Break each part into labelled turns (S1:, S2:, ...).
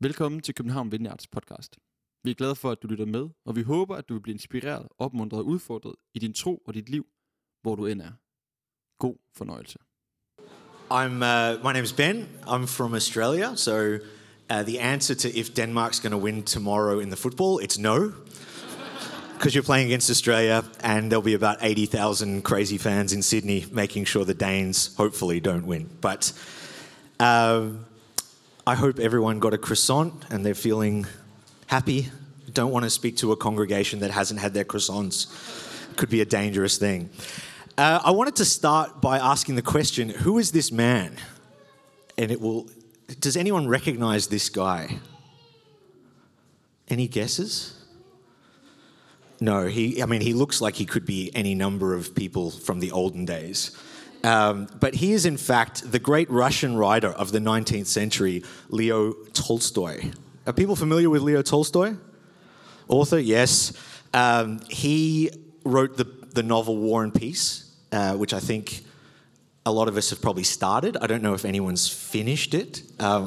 S1: Velkommen til København Vineyards podcast. Vi er glade for, at du lytter med, og vi håber, at du vil blive inspireret, opmuntret og udfordret i din tro og dit liv, hvor du end er. God fornøjelse.
S2: My name's Ben. I'm from Australia, so the answer to if Denmark's going to win tomorrow in the football, it's no. Because you're playing against Australia, and there'll be about 80,000 crazy fans in Sydney making sure the Danes hopefully don't win. But I hope everyone got a croissant and they're feeling happy. Don't want to speak to a congregation that hasn't had their croissants. Could be a dangerous thing. I wanted to start by asking the question, who is this man? And does anyone recognize this guy? Any guesses? No, he looks like he could be any number of people from the olden days. But he is, in fact, the great Russian writer of the 19th century, Leo Tolstoy. Are people familiar with Leo Tolstoy? Author, yes. He wrote the novel War and Peace, which I think a lot of us have probably started. I don't know if anyone's finished it.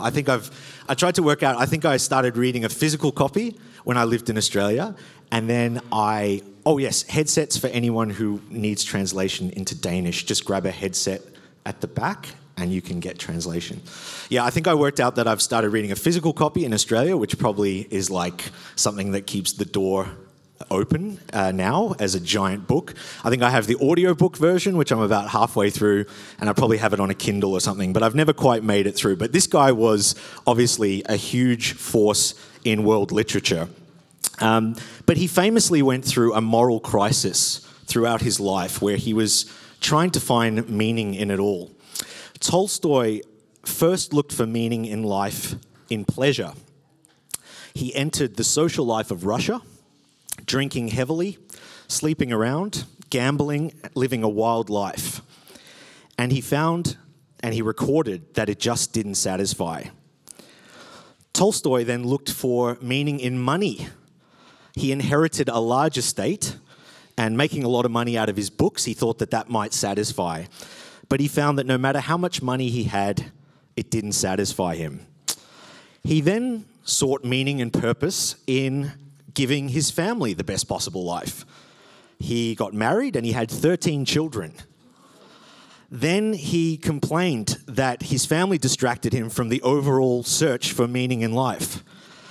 S2: I tried to work out, I think I started reading a physical copy when I lived in Australia, and then headsets for anyone who needs translation into Danish. Just grab a headset at the back and you can get translation. Yeah, I think I worked out that I've started reading a physical copy in Australia, which probably is like something that keeps the door open now as a giant book. I think I have the audiobook version, which I'm about halfway through, and I probably have it on a Kindle or something, but I've never quite made it through. But this guy was obviously a huge force in world literature. But he famously went through a moral crisis throughout his life where he was trying to find meaning in it all. Tolstoy first looked for meaning in life in pleasure. He entered the social life of Russia, drinking heavily, sleeping around, gambling, living a wild life. And he found and he recorded that it just didn't satisfy. Tolstoy then looked for meaning in money. He inherited a large estate, and making a lot of money out of his books, he thought that might satisfy. But he found that no matter how much money he had, it didn't satisfy him. He then sought meaning and purpose in giving his family the best possible life. He got married and he had 13 children. Then he complained that his family distracted him from the overall search for meaning in life.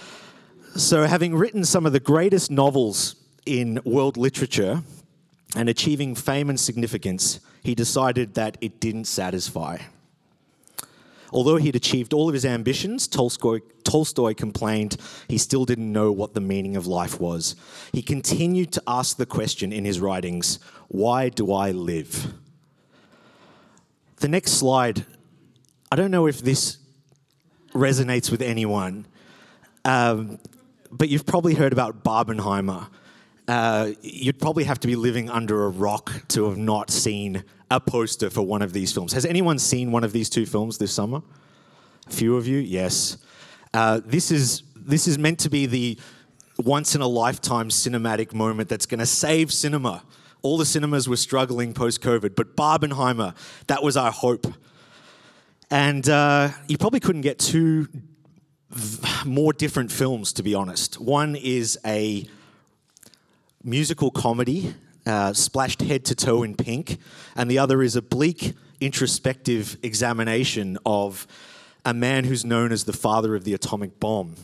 S2: So having written some of the greatest novels in world literature and achieving fame and significance, he decided that it didn't satisfy. Although he'd achieved all of his ambitions, Tolstoy complained he still didn't know what the meaning of life was. He continued to ask the question in his writings, why do I live? The next slide, I don't know if this resonates with anyone, but you've probably heard about Barbenheimer. You'd probably have to be living under a rock to have not seen a poster for one of these films. Has anyone seen one of these two films this summer? A few of you, yes. This is meant to be the once-in-a-lifetime cinematic moment that's going to save cinema. All the cinemas were struggling post-COVID, but Barbenheimer, that was our hope. And you probably couldn't get two more different films, to be honest. One is a musical comedy, splashed head to toe in pink, and the other is a bleak, introspective examination of a man who's known as the father of the atomic bomb.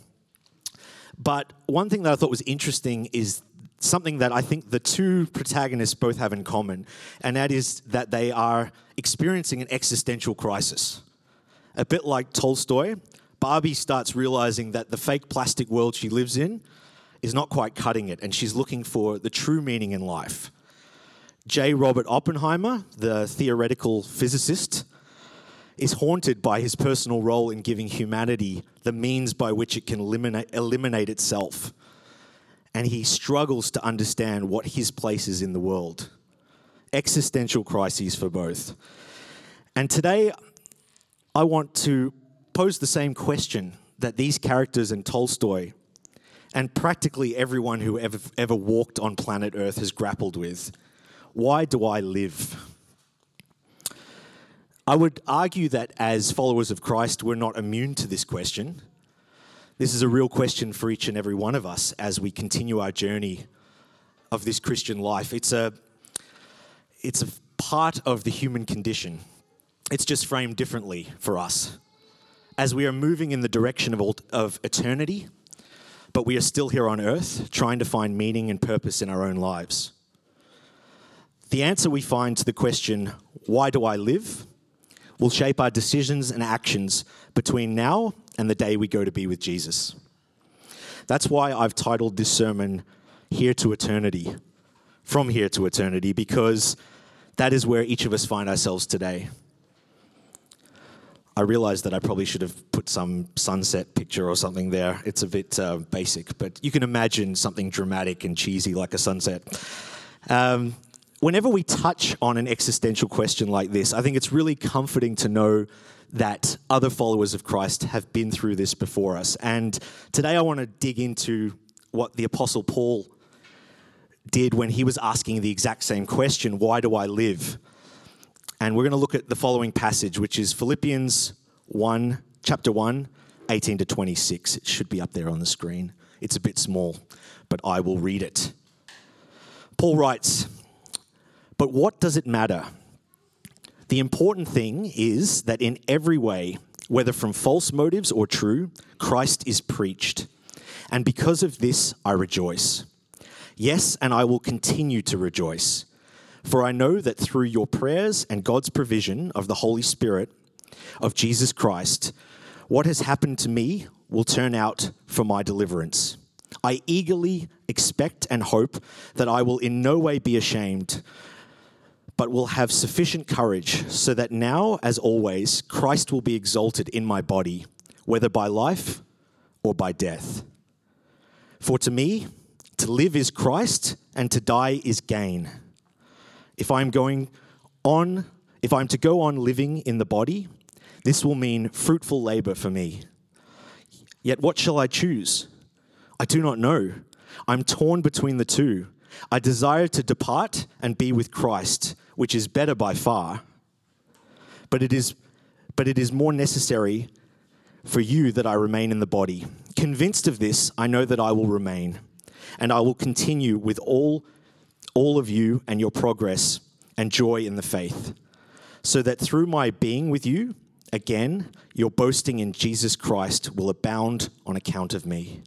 S2: But one thing that I thought was interesting is something that I think the two protagonists both have in common, and that is that they are experiencing an existential crisis. A bit like Tolstoy, Barbie starts realizing that the fake plastic world she lives in is not quite cutting it, and she's looking for the true meaning in life. J. Robert Oppenheimer, the theoretical physicist, is haunted by his personal role in giving humanity the means by which it can eliminate itself. And he struggles to understand what his place is in the world. Existential crises for both. And today, I want to pose the same question that these characters in Tolstoy and practically everyone who ever walked on planet Earth has grappled with. Why do I live? I would argue that as followers of Christ, we're not immune to this question. This is a real question for each and every one of us as we continue our journey of this Christian life. It's a part of the human condition. It's just framed differently for us. As we are moving in the direction of eternity, but we are still here on earth trying to find meaning and purpose in our own lives. The answer we find to the question, why do I live, will shape our decisions and actions between now and the day we go to be with Jesus. That's why I've titled this sermon, Here to Eternity, From Here to Eternity, because that is where each of us find ourselves today. I realize that I probably should have put some sunset picture or something there. It's a bit basic, but you can imagine something dramatic and cheesy like a sunset. Whenever we touch on an existential question like this, I think it's really comforting to know that other followers of Christ have been through this before us. And today I want to dig into what the Apostle Paul did when he was asking the exact same question, why do I live? And we're going to look at the following passage, which is Philippians 1, chapter 1, 18 to 26. It should be up there on the screen. It's a bit small, but I will read it. Paul writes, "But what does it matter? The important thing is that in every way, whether from false motives or true, Christ is preached. And because of this, I rejoice. Yes, and I will continue to rejoice. For I know that through your prayers and God's provision of the Holy Spirit of Jesus Christ, what has happened to me will turn out for my deliverance. I eagerly expect and hope that I will in no way be ashamed, but will have sufficient courage so that now, as always, Christ will be exalted in my body, whether by life or by death. For to me, to live is Christ, and to die is gain. If I'm to go on living in the body, this will mean fruitful labor for me. Yet what shall I choose? I do not know. I'm torn between the two. I desire to depart and be with Christ, which is better by far. But it is more necessary for you that I remain in the body. Convinced of this, I know that I will remain, and I will continue with all of you and your progress and joy in the faith, so that through my being with you, again, your boasting in Jesus Christ will abound on account of me."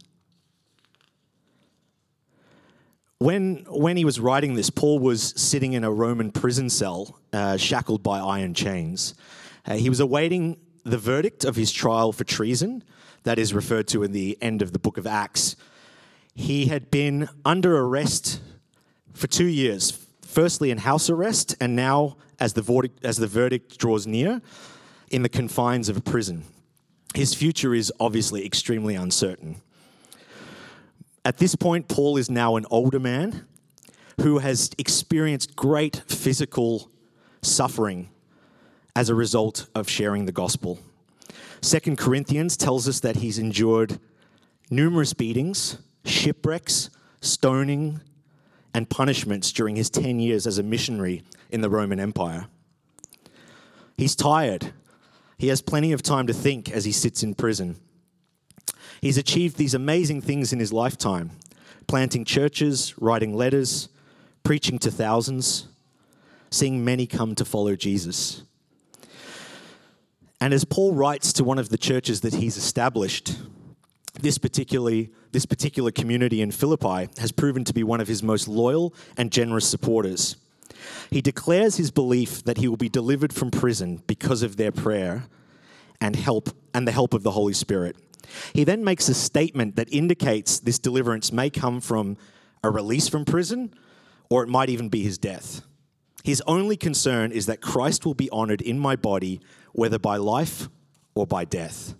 S2: When he was writing this, Paul was sitting in a Roman prison cell, shackled by iron chains. He was awaiting the verdict of his trial for treason, that is referred to in the end of the book of Acts. He had been under arrest for 2 years, firstly in house arrest, and now, as the verdict draws near, in the confines of a prison. His future is obviously extremely uncertain. At this point, Paul is now an older man who has experienced great physical suffering as a result of sharing the gospel. 2 Corinthians tells us that he's endured numerous beatings, shipwrecks, stoning, and punishments during his 10 years as a missionary in the Roman Empire. He's tired. He has plenty of time to think as he sits in prison. He's achieved these amazing things in his lifetime, planting churches, writing letters, preaching to thousands, seeing many come to follow Jesus. And as Paul writes to one of the churches that he's established, this particular community in Philippi has proven to be one of his most loyal and generous supporters. He declares his belief that he will be delivered from prison because of their prayer and the help of the Holy Spirit. He then makes a statement that indicates this deliverance may come from a release from prison, or it might even be his death. His only concern is that Christ will be honored in my body, whether by life or by death.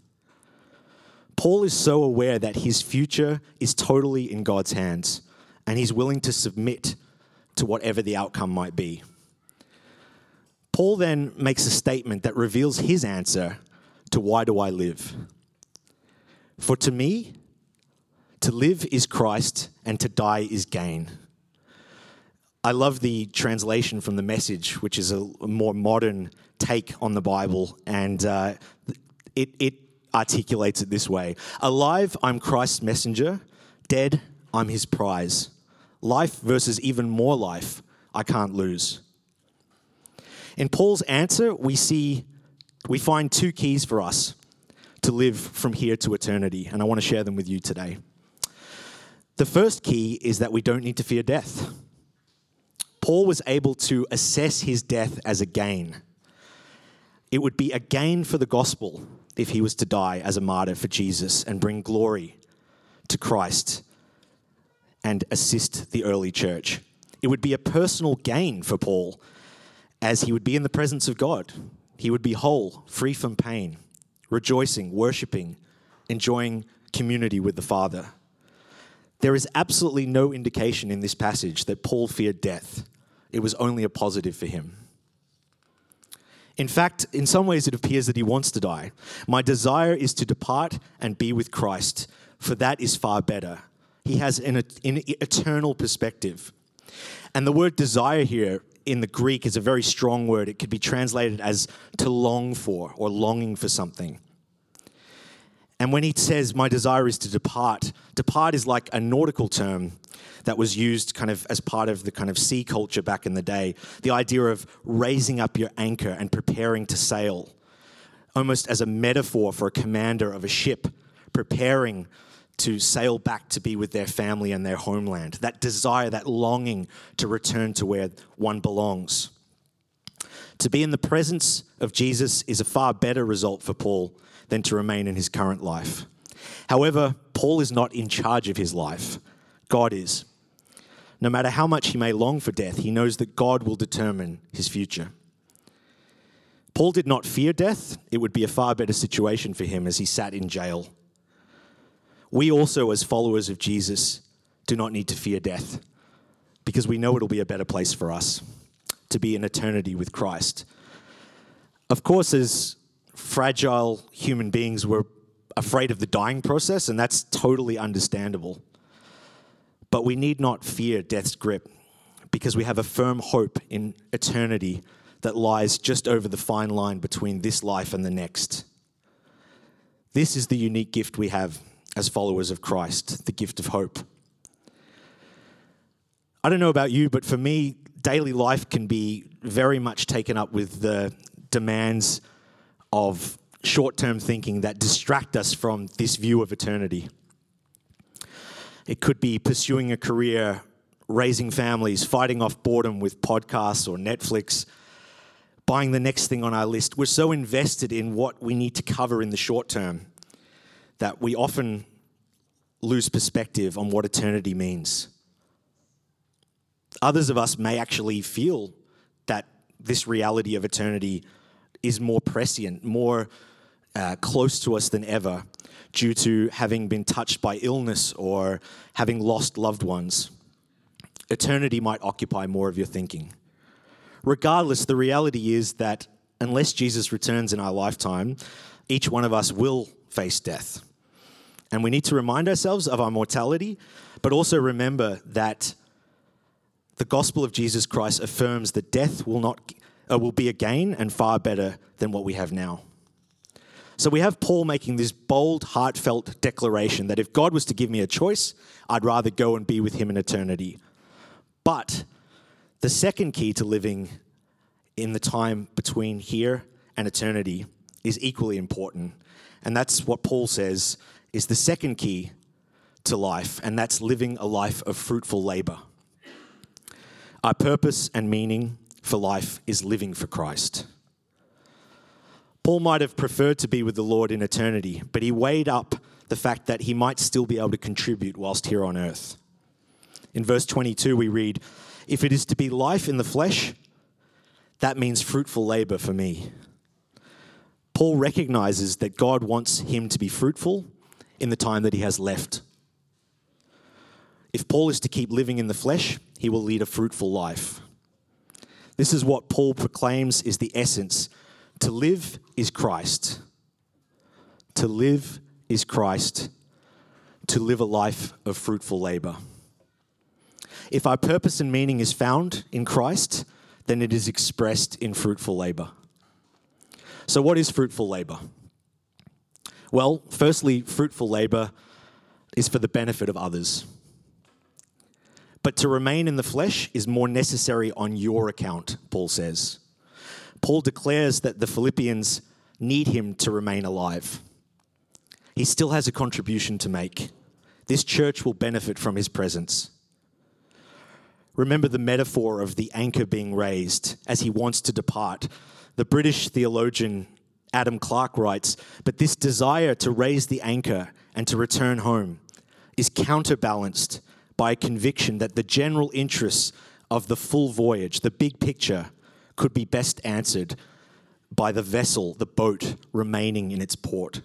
S2: Paul is so aware that his future is totally in God's hands, and he's willing to submit to whatever the outcome might be. Paul then makes a statement that reveals his answer to why do I live? For to me, to live is Christ, and to die is gain. I love the translation from the Message, which is a more modern take on the Bible, and articulates it this way: alive, I'm Christ's messenger. Dead, I'm his prize. Life versus even more life, I can't lose. In Paul's answer, we find two keys for us to live from here to eternity, and I want to share them with you today. The first key is that we don't need to fear death. Paul was able to assess his death as a gain. It would be a gain for the gospel if he was to die as a martyr for Jesus and bring glory to Christ and assist the early church. It would be a personal gain for Paul, as he would be in the presence of God. He would be whole, free from pain, rejoicing, worshiping, enjoying community with the Father. There is absolutely no indication in this passage that Paul feared death. It was only a positive for him. In fact, in some ways it appears that he wants to die. My desire is to depart and be with Christ, for that is far better. He has an eternal perspective. And the word desire here in the Greek is a very strong word. It could be translated as to long for or longing for something. And when he says, my desire is to depart is like a nautical term that was used kind of as part of the kind of sea culture back in the day. The idea of raising up your anchor and preparing to sail, almost as a metaphor for a commander of a ship preparing to sail back to be with their family and their homeland. That desire, that longing to return to where one belongs. To be in the presence of Jesus is a far better result for Paul than to remain in his current life. However, Paul is not in charge of his life. God is. No matter how much he may long for death, he knows that God will determine his future. Paul did not fear death. It would be a far better situation for him as he sat in jail. We also, as followers of Jesus, do not need to fear death because we know it'll be a better place for us to be in eternity with Christ. Of course, as fragile human beings, we're afraid of the dying process, and that's totally understandable. But we need not fear death's grip because we have a firm hope in eternity that lies just over the fine line between this life and the next. This is the unique gift we have as followers of Christ, the gift of hope. I don't know about you, but for me, daily life can be very much taken up with the demands of short-term thinking that distract us from this view of eternity. It could be pursuing a career, raising families, fighting off boredom with podcasts or Netflix, buying the next thing on our list. We're so invested in what we need to cover in the short term that we often lose perspective on what eternity means. Others of us may actually feel that this reality of eternity is more prescient, more close to us than ever due to having been touched by illness or having lost loved ones. Eternity might occupy more of your thinking. Regardless, the reality is that unless Jesus returns in our lifetime, each one of us will face death. And we need to remind ourselves of our mortality, but also remember that the gospel of Jesus Christ affirms that death will be a gain and far better than what we have now. So we have Paul making this bold, heartfelt declaration that if God was to give me a choice, I'd rather go and be with him in eternity. But the second key to living in the time between here and eternity is equally important. And that's what Paul says is the second key to life, and that's living a life of fruitful labor. Our purpose and meaning for life is living for Christ. Paul might have preferred to be with the Lord in eternity, but he weighed up the fact that he might still be able to contribute whilst here on earth. In verse 22, we read, "If it is to be life in the flesh, that means fruitful labor for me." Paul recognizes that God wants him to be fruitful in the time that he has left. If Paul is to keep living in the flesh, he will lead a fruitful life. This is what Paul proclaims is the essence. To live is Christ. To live is Christ. To live a life of fruitful labor. If our purpose and meaning is found in Christ, then it is expressed in fruitful labor. So what is fruitful labor? Well, firstly, fruitful labor is for the benefit of others. But to remain in the flesh is more necessary on your account, Paul says. Paul declares that the Philippians need him to remain alive. He still has a contribution to make. This church will benefit from his presence. Remember the metaphor of the anchor being raised as he wants to depart. The British theologian Adam Clarke writes, "But this desire to raise the anchor and to return home is counterbalanced by a conviction that the general interests of the full voyage, the big picture, could be best answered by the vessel, the boat, remaining in its port."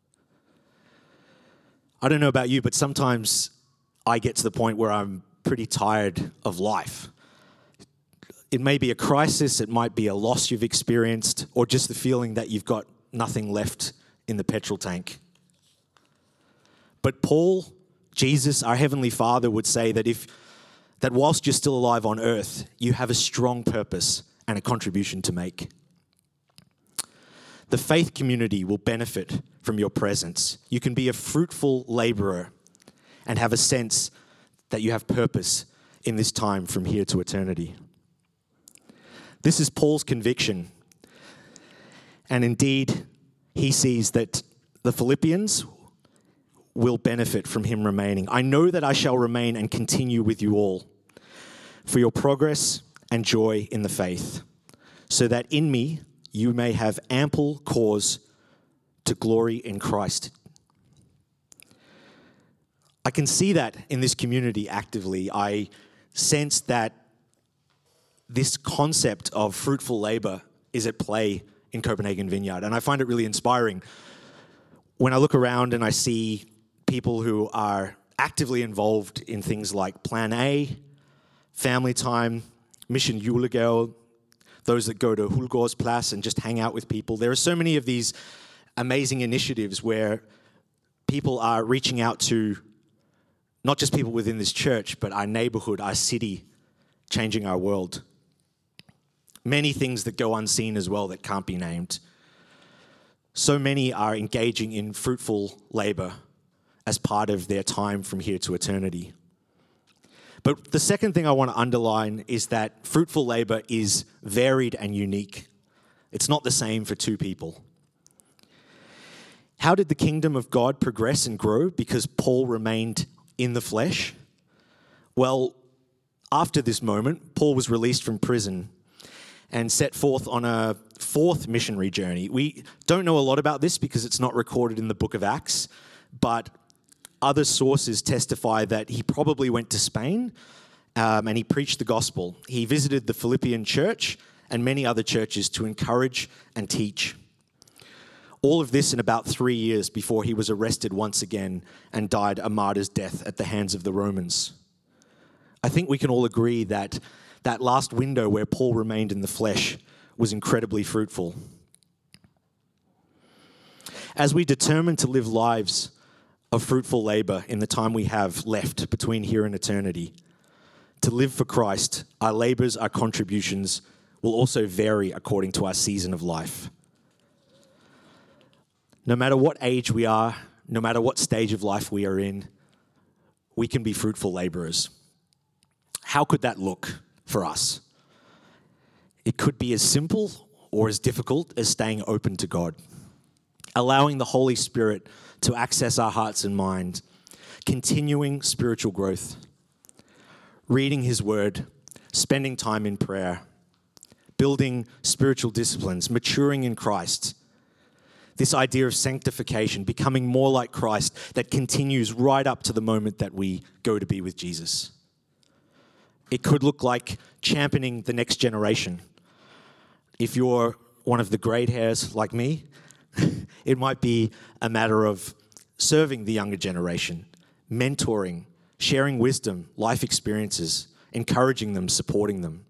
S2: I don't know about you, but sometimes I get to the point where I'm pretty tired of life. It may be a crisis, it might be a loss you've experienced, or just the feeling that you've got nothing left in the petrol tank. But Paul, Jesus, our Heavenly Father, would say that whilst you're still alive on earth, you have a strong purpose and a contribution to make. The faith community will benefit from your presence. You can be a fruitful laborer and have a sense that you have purpose in this time from here to eternity. This is Paul's conviction. And indeed, he sees that the Philippians will benefit from him remaining. "I know that I shall remain and continue with you all for your progress and joy in the faith, so that in me you may have ample cause to glory in Christ." I can see that in this community actively. I sense that this concept of fruitful labor is at play in Copenhagen Vineyard, and I find it really inspiring. When I look around and I see people who are actively involved in things like Plan A, Family Time, Mission Julegave, those that go to Hulgårdsplads and just hang out with people. There are so many of these amazing initiatives where people are reaching out to not just people within this church, but our neighborhood, our city, changing our world. Many things that go unseen as well that can't be named. So many are engaging in fruitful labor as part of their time from here to eternity. But the second thing I want to underline is that fruitful labor is varied and unique. It's not the same for two people. How did the kingdom of God progress and grow? Because Paul remained in the flesh? Well, after this moment, Paul was released from prison and set forth on a fourth missionary journey. We don't know a lot about this because it's not recorded in the book of Acts, but other sources testify that he probably went to Spain and he preached the gospel. He visited the Philippian church and many other churches to encourage and teach. All of this in about 3 years before he was arrested once again and died a martyr's death at the hands of the Romans. I think we can all agree that that last window where Paul remained in the flesh was incredibly fruitful. As we determine to live lives of fruitful labor in the time we have left between here and eternity, to live for Christ, our labors, our contributions will also vary according to our season of life. No matter what age we are, no matter what stage of life we are in, we can be fruitful laborers. How could that look for us? It could be as simple or as difficult as staying open to God, allowing the Holy Spirit to access our hearts and mind, continuing spiritual growth, reading His Word, spending time in prayer, building spiritual disciplines, maturing in Christ. This idea of sanctification, becoming more like Christ, that continues right up to the moment that we go to be with Jesus. It could look like championing the next generation. If you're one of the grey hairs like me, it might be a matter of serving the younger generation, mentoring, sharing wisdom, life experiences, encouraging them, supporting them.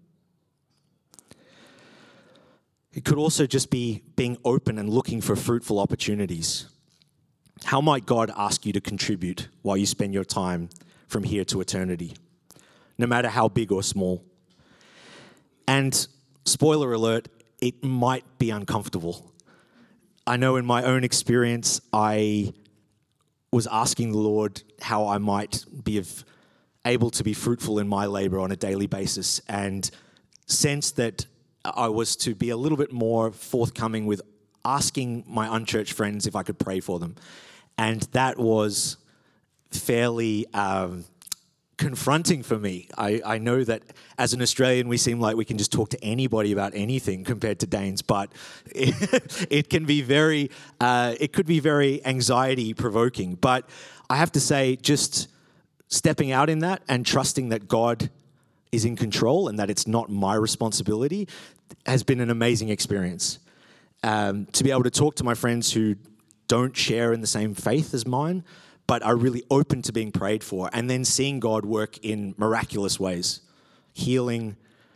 S2: It could also just be being open and looking for fruitful opportunities. How might God ask you to contribute while you spend your time from here to eternity, no matter how big or small? And spoiler alert, it might be uncomfortable. I know in my own experience, I was asking the Lord how I might be able to be fruitful in my labor on a daily basis, and sensed that I was to be a little bit more forthcoming with asking my unchurched friends if I could pray for them. And that was fairly confronting for me. I know that as an Australian, we seem like we can just talk to anybody about anything compared to Danes, but it can be it could be very anxiety provoking. But I have to say, just stepping out in that and trusting that God is in control and that it's not my responsibility has been an amazing experience. To be able to talk to my friends who don't share in the same faith as mine, but are really open to being prayed for, and then seeing God work in miraculous ways. Healing,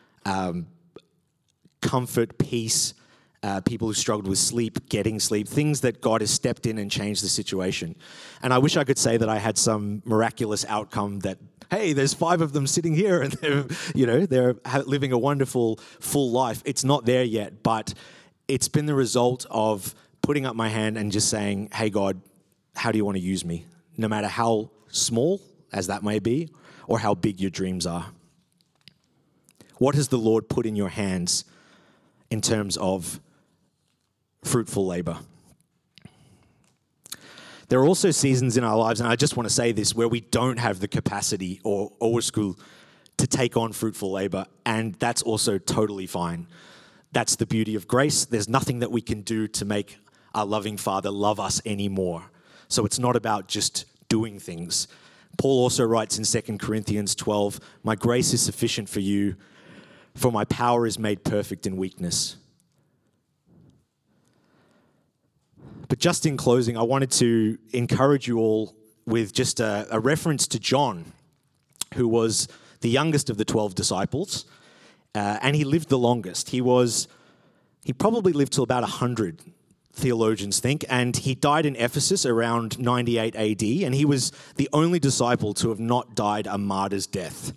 S2: comfort, peace, people who struggled with sleep, getting sleep, things that God has stepped in and changed the situation. And I wish I could say that I had some miraculous outcome that, hey, there's 5 of them sitting here and they're living a wonderful, full life. It's not there yet, but it's been the result of putting up my hand and just saying, hey, God, how do you want to use me? No matter how small as that may be, or how big your dreams are. What has the Lord put in your hands in terms of fruitful labor? There are also seasons in our lives, and I just want to say this, where we don't have the capacity or school to take on fruitful labor, and that's also totally fine. That's the beauty of grace. There's nothing that we can do to make our loving Father love us anymore. So it's not about just doing things. Paul also writes in 2 Corinthians 12, "My grace is sufficient for you, for my power is made perfect in weakness." But just in closing, I wanted to encourage you all with just a reference to John, who was the youngest of the 12 disciples, and he lived the longest. He probably lived till about 100, theologians think, and he died in Ephesus around 98 AD, and he was the only disciple to have not died a martyr's death.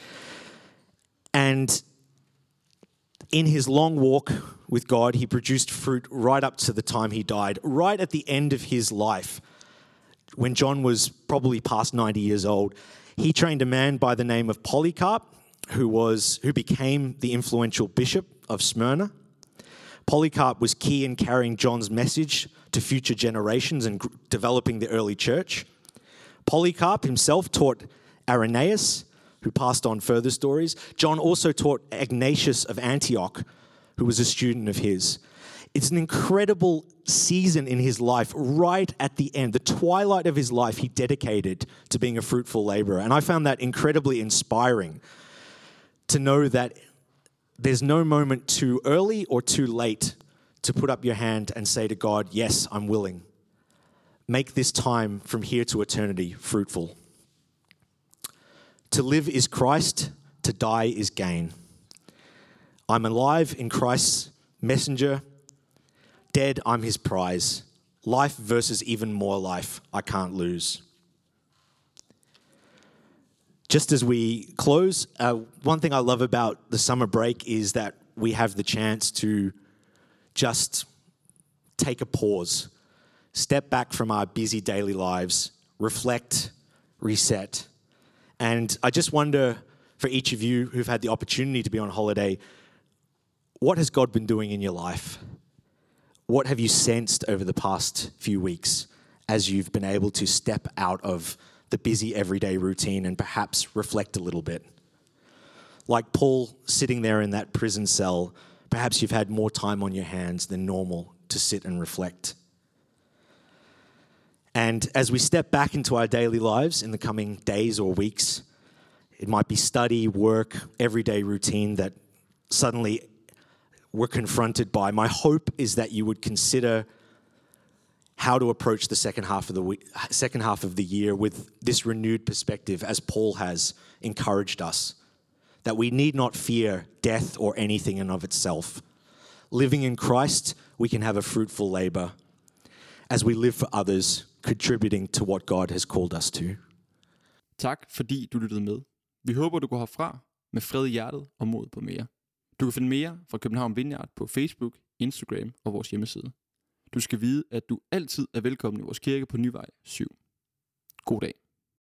S2: And in his long walk with God, he produced fruit right up to the time he died, right at the end of his life. When John was probably past 90 years old, he trained a man by the name of Polycarp, who became the influential bishop of Smyrna. Polycarp was key in carrying John's message to future generations and developing the early church. Polycarp himself taught Irenaeus, who passed on further stories. John also taught Ignatius of Antioch, who was a student of his. It's an incredible season in his life, right at the end, the twilight of his life he dedicated to being a fruitful laborer. And I found that incredibly inspiring to know that there's no moment too early or too late to put up your hand and say to God, yes, I'm willing. Make this time from here to eternity fruitful. To live is Christ, to die is gain. I'm alive in Christ's messenger. Dead, I'm his prize. Life versus even more life, I can't lose. Just as we close, one thing I love about the summer break is that we have the chance to just take a pause, step back from our busy daily lives, reflect, reset. And I just wonder, for each of you who've had the opportunity to be on holiday, what has God been doing in your life? What have you sensed over the past few weeks as you've been able to step out of the busy everyday routine and perhaps reflect a little bit? Like Paul sitting there in that prison cell, perhaps you've had more time on your hands than normal to sit and reflect. And as we step back into our daily lives in the coming days or weeks, it might be study, work, everyday routine that suddenly we're confronted by. My hope is that you would consider how to approach the second half of the year with this renewed perspective, as Paul has encouraged us, that we need not fear death or anything in of itself. Living in Christ, we can have a fruitful labor as we live for others, contributing to what God has called us to.
S1: Tak fordi du lyttede med. Vi håber, du går herfra med fred i hjertet og mod på mere. Du kan finde mere fra København Vineyard på Facebook, Instagram og vores hjemmeside. Du skal vide, at du altid er velkommen i vores kirke på Nyvej 7. God dag.